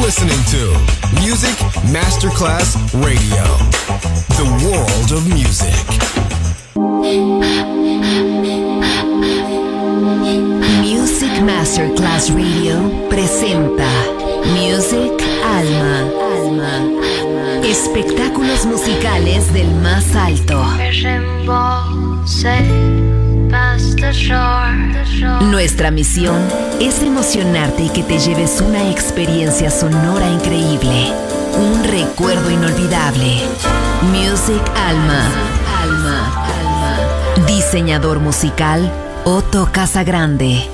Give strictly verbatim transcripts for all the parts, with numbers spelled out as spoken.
listening to Music Masterclass Radio, the world of music. Music Masterclass Radio presenta Music Alma. Alma. Espectáculos musicales del más alto. Nuestra misión es emocionarte y que te lleves una experiencia sonora increíble, un recuerdo inolvidable. Music Alma. Alma. Alma. Diseñador musical Otto Casagrande.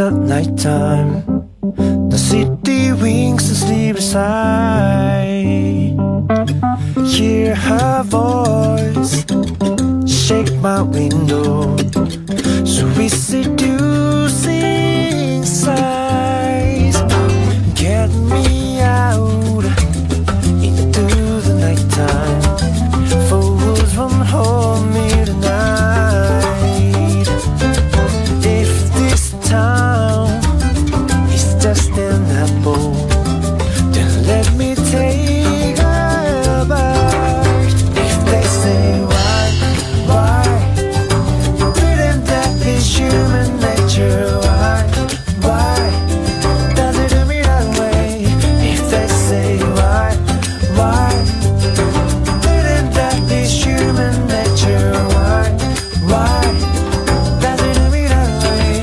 the nighttime, the city winks and sleep beside. Hear her voice shake my window, sweet seducing sighs. Get me out into the nighttime. Fools won't hold me tonight. If this town is just an apple, then let me take a bite. If they say why, why, didn't that be human nature? Why, why, does it do me that way? If they say why, why, didn't that be human nature? Why, why, does it do me that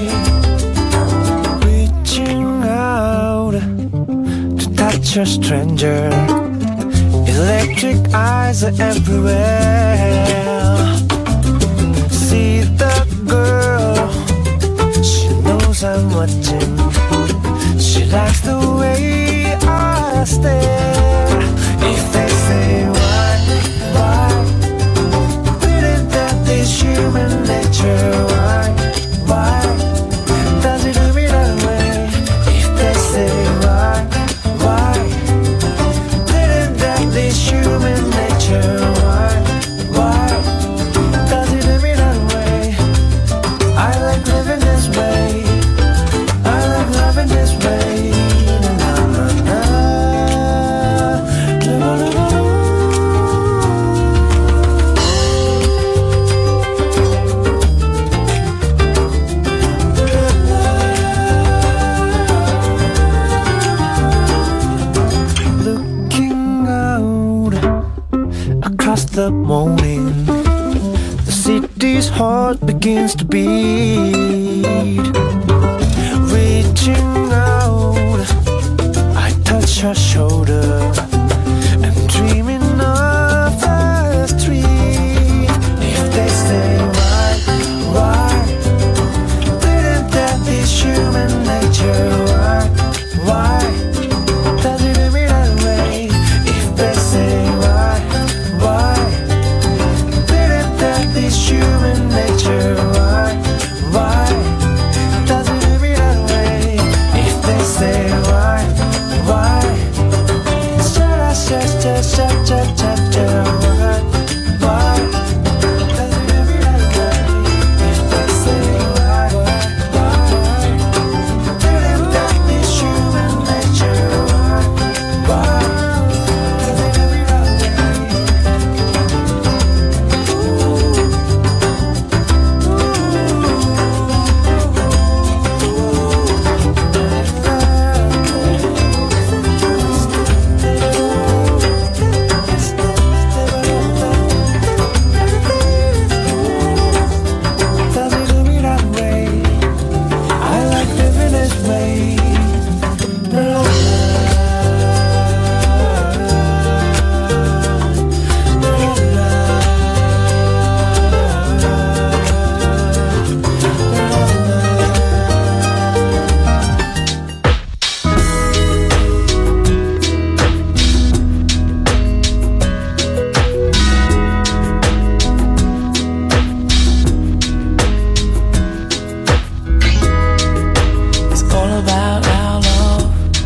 way? Reaching out to touch a stranger, electric eyes are everywhere. See the girl, she knows I'm watching. She likes the way I stare. If they say why, why, didn't that is human nature? Why, why, does it do me that way? If they say why, why, didn't that is human nature? Why, why, does it do me that way? I like living this way. I like loving this way. Na, na, na. Na, na, na, na. Looking out across the morning, the city's heart begins to beat. Reaching out, I touch her shoulder. I'm dreaming of the street. If they say why, why, didn't that be human nature? Why, why, does it do me that way? If they say why, why, didn't that be human nature? Why, why, does it do me that way? If they say why, why, should I shut, shut, shut, shut, shut, shut, why, why, does it do me that way? If they say why, why, didn't that be human nature? Why, why, does it do me that Does it do me that way? I like living this way. La, la, la, la, It's all about our love.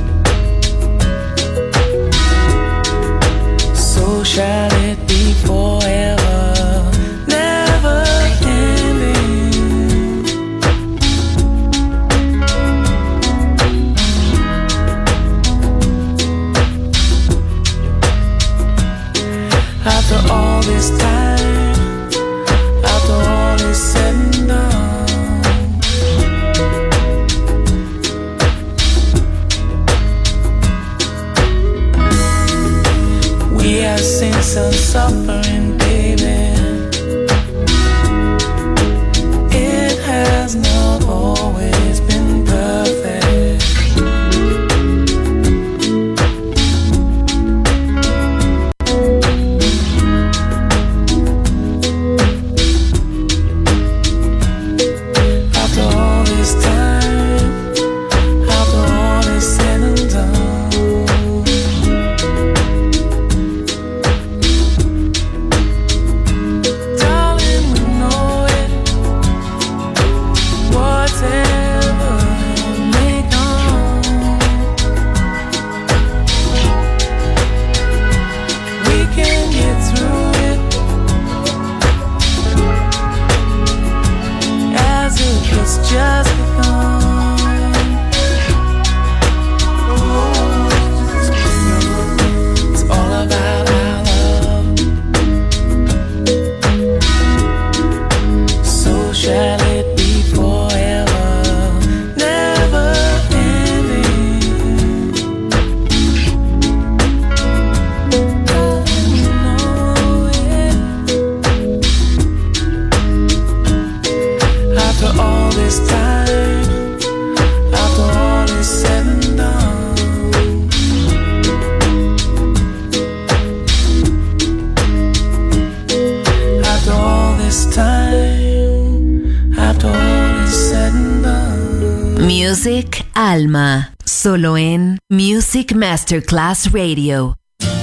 So shall it be forever, never ending. After all this time, after all is said and done, we have seen some suffering, baby. It has not always been perfect. After all this time, Alma, solo en Music Masterclass Radio.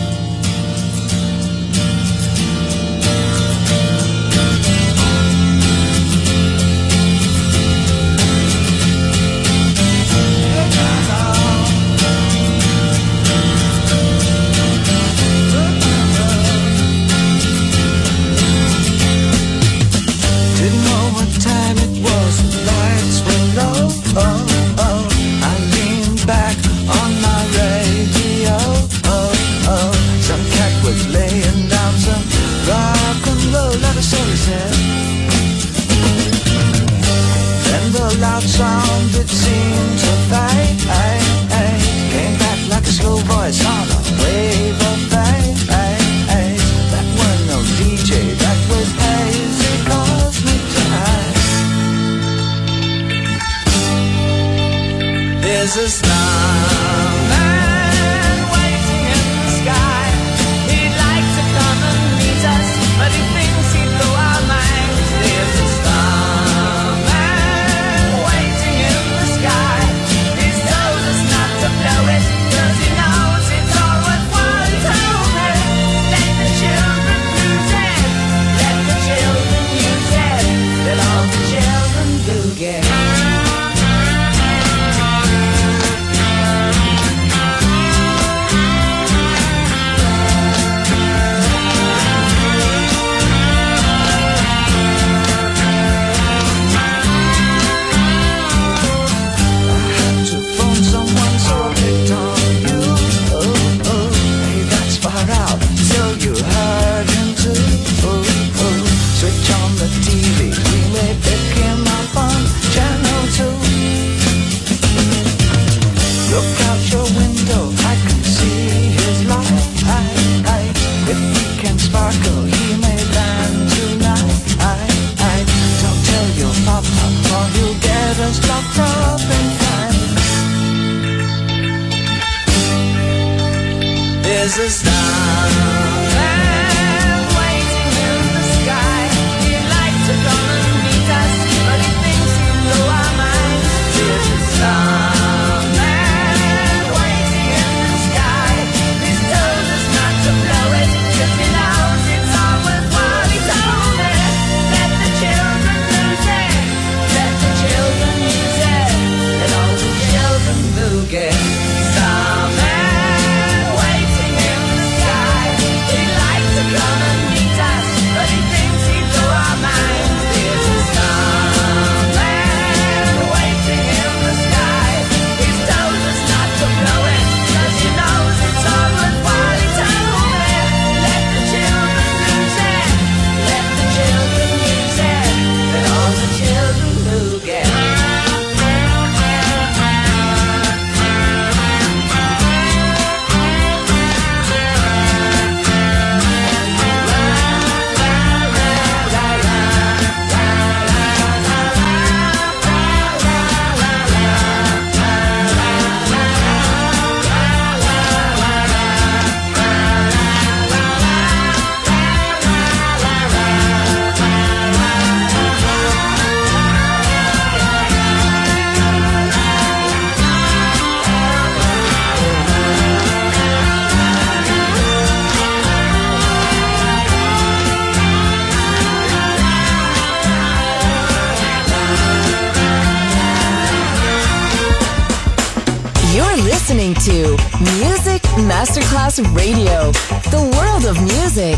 listening to Music Masterclass Radio, the world of music.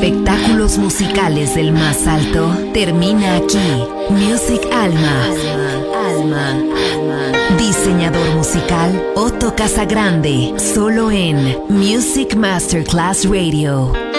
Espectáculos musicales del más alto termina aquí. Music Alma. Alma. Alma. Diseñador musical Otto Casagrande. Solo en Music Masterclass Radio.